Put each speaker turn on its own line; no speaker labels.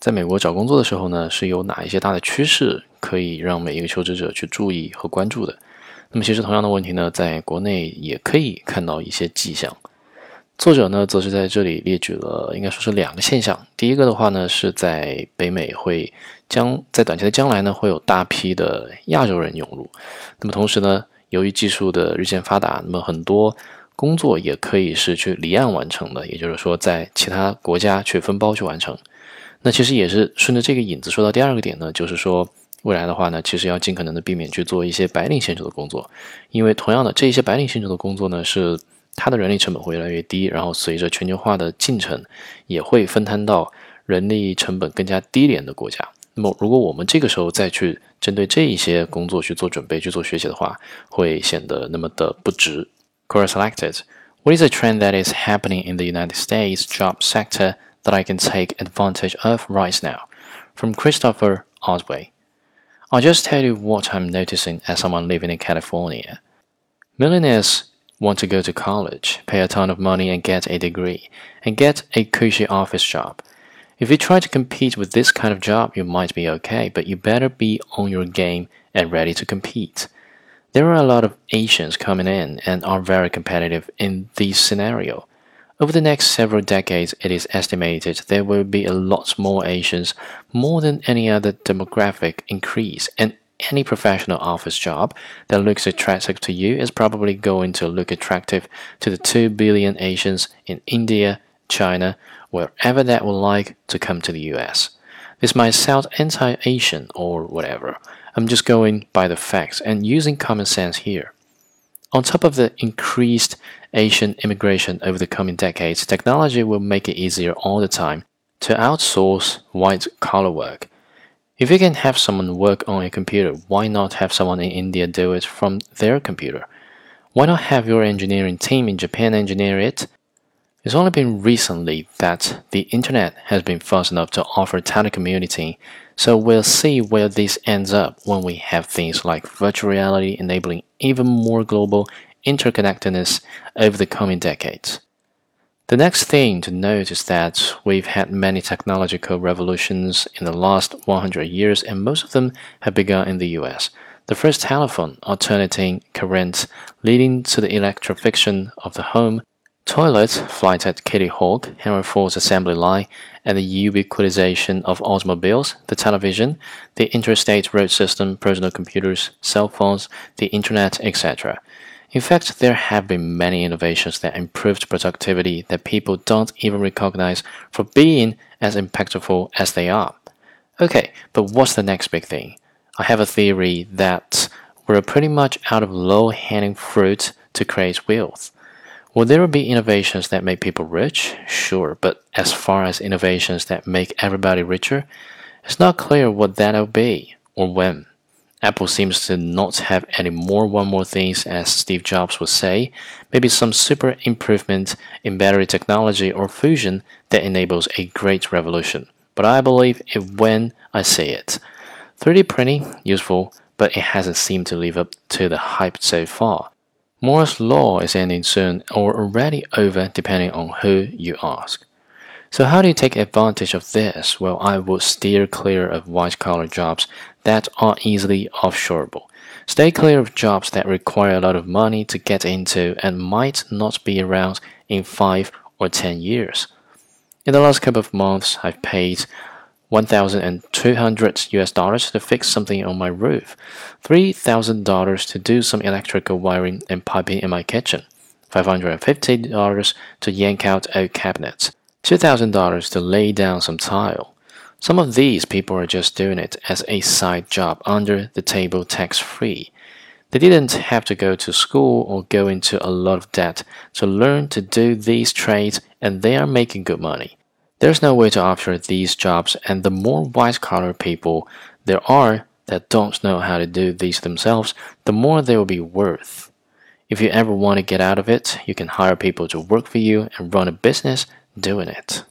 在美国找工作的时候呢，是有哪一些大的趋势可以让每一个求职者去注意和关注的？那么其实同样的问题呢，在国内也可以看到一些迹象。作者呢，则是在这里列举了应该说是两个现象。第一个的话呢，是在北美在短期的将来呢，会有大批的亚洲人涌入。那么同时呢，由于技术的日渐发达，那么很多工作也可以是去离岸完成的，也就是说在其他国家去分包去完成。那其实也是顺着这个引子说到第二个点呢，就是说未来的话呢，其实要尽可能的避免去做一些白领性质的工作，因为同样的这一些白领性质的工作呢，是它的人力成本会越来越低，然后随着全球化的进程，也会分摊到人力成本更加低廉的国家。那么如果我们这个时候再去针对这一些工作去做准备、去做学习的话，会显得那么的不值。Quora selected. What is a trend that is happening in the United States job sector that I can take advantage of right now? From Christopher Osway. I'll just tell you what I'm noticing as someone living in California. Millionaires want to go to college, pay a ton of money and get a degree, and get a cushy office job. If you try to compete with this kind of job, you might be okay, but you better be on your game and ready to compete. There are a lot of Asians coming in and are very competitive in this scenario. Over the next several decades, it is estimated there will be a lot more Asians, more than any other demographic increase, and any professional office job that looks attractive to you is probably going to look attractive to the 2 billion Asians in India, China, wherever that would like to come to the US. This might sound anti-Asian or whatever. I'm just going by the facts and using common sense here. On top of the increased Asian immigration over the coming decades, technology will make it easier all the time to outsource white-collar work. If you can have someone work on a computer, why not have someone in India do it from their computer? Why not have your engineering team in Japan engineer it? It's only been recently that the internet has been fast enough to offer telecommuting, so we'll see where this ends up when we have things like virtual reality enabling even more global interconnectedness over the coming decades. The next thing to note is that we've had many technological revolutions in the last 100 years, and most of them have begun in the US. The first telephone, alternating current, leading to the electrification of the home, toilet, flight at Kitty Hawk, Henry Ford's assembly line, and the ubiquitization of automobiles, the television, the interstate road system, personal computers, cell phones, the internet, etc. In fact, there have been many innovations that improved productivity that people don't even recognize for being as impactful as they are. Okay, but what's the next big thing? I have a theory that we're pretty much out of low-hanging fruit to create wealth. Will there be innovations that make people rich? Sure, but as far as innovations that make everybody richer, it's not clear what that'll be or when. Apple seems to not have any more one more things, as Steve Jobs would say, maybe some super improvement in battery technology or fusion that enables a great revolution. But I believe it when I see it. 3D printing, useful, but it hasn't seemed to live up to the hype so far. Moore's law is ending soon or already over depending on who you ask. So how do you take advantage of this? Well, I would steer clear of white-collar jobs that are easily offshoreable. Stay clear of jobs that require a lot of money to get into and might not be around in 5 or 10 years. In the last couple of months, I've paid $1,200 to fix something on my roof, $3,000 to do some electrical wiring and piping in my kitchen, $550 to yank out old cabinets, $2,000 to lay down some tile. Some of these people are just doing it as a side job under the table tax-free. They didn't have to go to school or go into a lot of debt to learn to do these trades, and they are making good money. There's no way to offer these jobs, and the more white-collar people there are that don't know how to do these themselves, the more they will be worth. If you ever want to get out of it, you can hire people to work for you and run a business doing it.